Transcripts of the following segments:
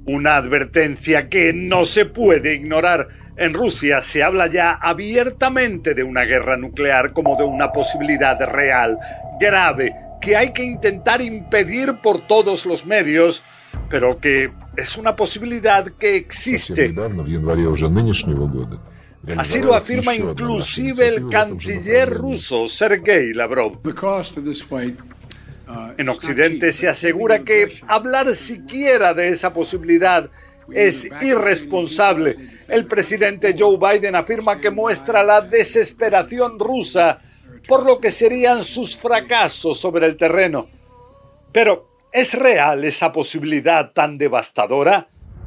Una advertencia que no se puede ignorar. En Rusia se habla ya abiertamente de una guerra nuclear como de una posibilidad real, grave, que hay que intentar impedir por todos los medios, pero que es una posibilidad que existe. Así lo afirma inclusive el canciller ruso, Sergei Lavrov. En Occidente se asegura que hablar siquiera de esa posibilidad es irresponsable. El presidente Joe Biden afirma que muestra la desesperación rusa por lo que serían sus fracasos sobre el terreno. Pero, ¿es real esa posibilidad tan devastadora?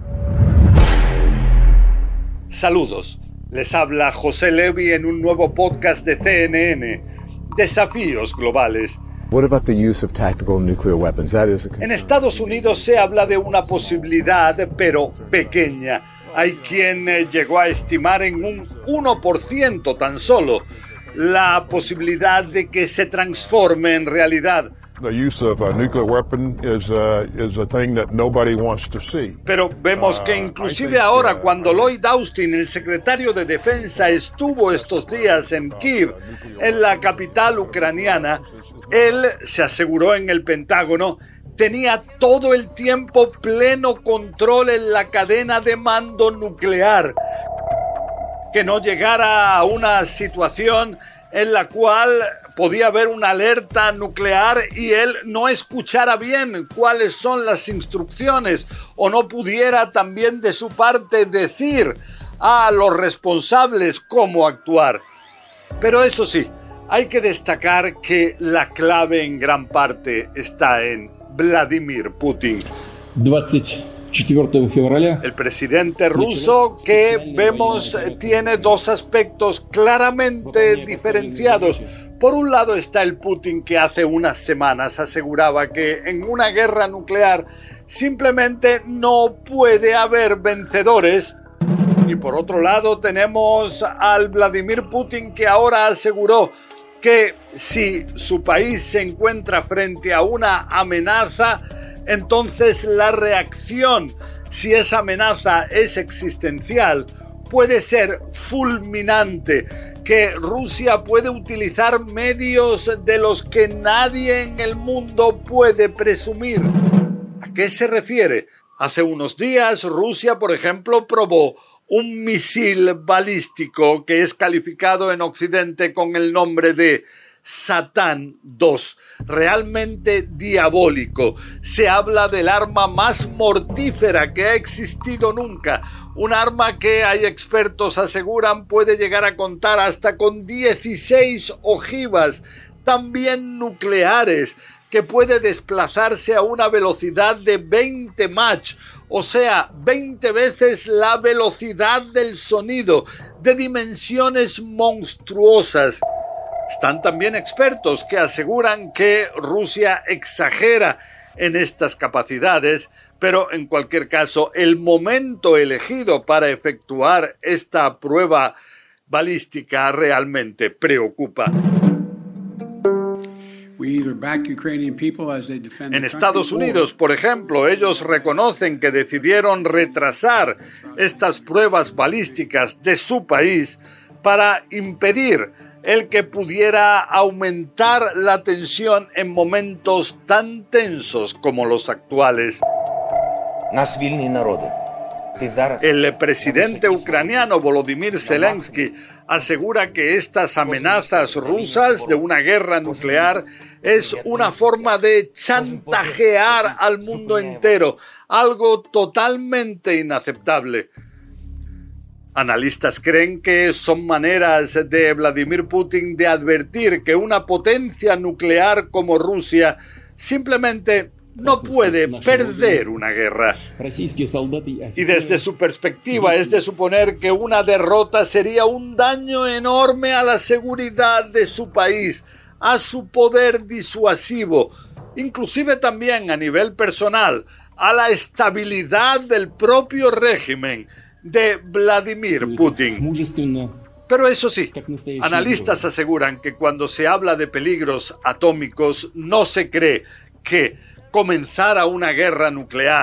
Saludos. Les habla José Levy en un nuevo podcast de CNN, Desafíos Globales. En Estados Unidos se habla de una posibilidad, pero pequeña. Hay quien llegó a estimar en un 1% tan solo la posibilidad de que se transforme en realidad. Pero vemos que inclusive ahora, cuando Lloyd Austin, el secretario de Defensa, estuvo estos días en Kiev, en la capital ucraniana, él se aseguró en el Pentágono, tenía todo el tiempo pleno control en la cadena de mando nuclear, que no llegara a una situación en la cual podía haber una alerta nuclear y él no escuchara bien cuáles son las instrucciones o no pudiera también de su parte decir a los responsables cómo actuar. Pero eso sí, hay que destacar que la clave en gran parte está en Vladimir Putin. El presidente ruso, que vemos tiene dos aspectos claramente diferenciados. Por un lado está el Putin que hace unas semanas aseguraba que en una guerra nuclear simplemente no puede haber vencedores. Y por otro lado tenemos al Vladimir Putin que ahora aseguró que si su país se encuentra frente a una amenaza, entonces la reacción, si esa amenaza es existencial, puede ser fulminante, que Rusia puede utilizar medios de los que nadie en el mundo puede presumir. ¿A qué se refiere? Hace unos días Rusia, por ejemplo, probó un misil balístico que es calificado en Occidente con el nombre de Satán II, realmente diabólico. Se habla del arma más mortífera que ha existido nunca, un arma que hay expertos aseguran puede llegar a contar hasta con 16 ojivas, también nucleares, que puede desplazarse a una velocidad de 20 Mach, o sea, 20 veces la velocidad del sonido, de dimensiones monstruosas. Están también expertos que aseguran que Rusia exagera en estas capacidades, pero en cualquier caso, el momento elegido para efectuar esta prueba balística realmente preocupa. En Estados Unidos, por ejemplo, ellos reconocen que decidieron retrasar estas pruebas balísticas de su país para impedir el que pudiera aumentar la tensión en momentos tan tensos como los actuales. El presidente ucraniano Volodymyr Zelensky asegura que estas amenazas rusas de una guerra nuclear es una forma de chantajear al mundo entero, algo totalmente inaceptable. Analistas creen que son maneras de Vladimir Putin de advertir que una potencia nuclear como Rusia simplemente no puede perder una guerra. Y desde su perspectiva es de suponer que una derrota sería un daño enorme a la seguridad de su país, a su poder disuasivo, inclusive también a nivel personal, a la estabilidad del propio régimen de Vladimir Putin. Pero eso sí, analistas aseguran que cuando se habla de peligros atómicos no se cree que comenzara una guerra nuclear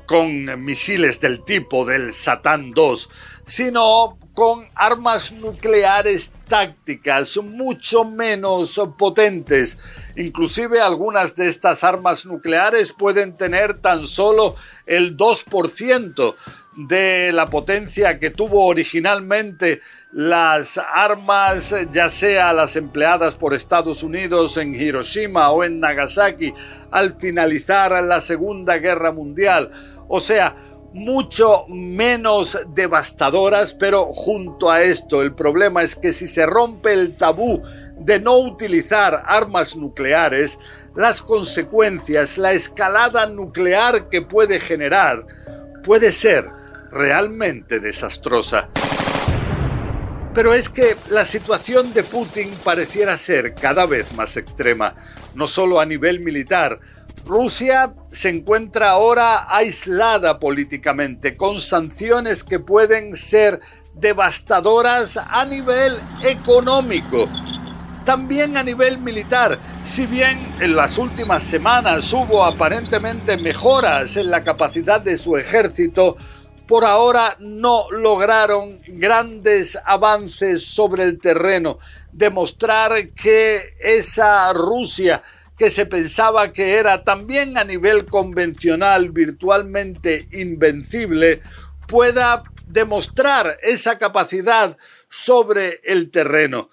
con misiles del tipo del Satán II, sino con armas nucleares tácticas mucho menos potentes. Inclusive algunas de estas armas nucleares pueden tener tan solo el 2% de la potencia que tuvo originalmente las armas, ya sea las empleadas por Estados Unidos en Hiroshima o en Nagasaki al finalizar la Segunda Guerra Mundial. O sea, mucho menos devastadoras, pero junto a esto el problema es que si se rompe el tabú de no utilizar armas nucleares, las consecuencias, la escalada nuclear que puede generar, puede ser realmente desastrosa. Pero es que la situación de Putin pareciera ser cada vez más extrema, no solo a nivel militar. Rusia se encuentra ahora aislada políticamente, con sanciones que pueden ser devastadoras a nivel económico. También a nivel militar, si bien en las últimas semanas hubo aparentemente mejoras en la capacidad de su ejército, por ahora no lograron grandes avances sobre el terreno, demostrar que esa Rusia que se pensaba que era también a nivel convencional virtualmente invencible, pueda demostrar esa capacidad sobre el terreno.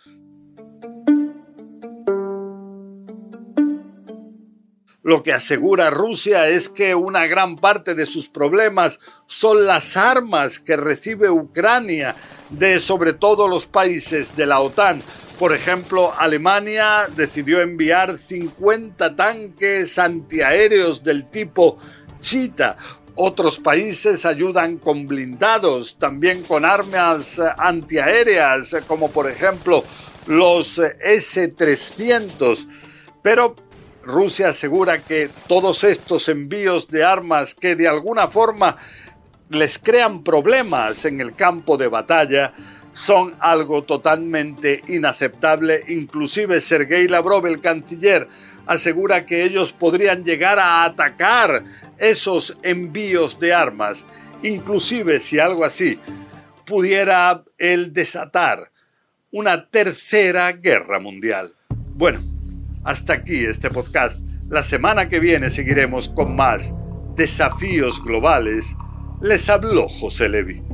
Lo que asegura Rusia es que una gran parte de sus problemas son las armas que recibe Ucrania de sobre todo los países de la OTAN. Por ejemplo, Alemania decidió enviar 50 tanques antiaéreos del tipo Cheetah. Otros países ayudan con blindados, también con armas antiaéreas, como por ejemplo los S-300. Pero Rusia asegura que todos estos envíos de armas que de alguna forma les crean problemas en el campo de batalla son algo totalmente inaceptable. Inclusive Sergei Lavrov, el canciller, asegura que ellos podrían llegar a atacar esos envíos de armas, inclusive si algo así pudiera él desatar una tercera guerra mundial. Bueno, hasta aquí este podcast. La semana que viene seguiremos con más desafíos globales. Les habló José Levi.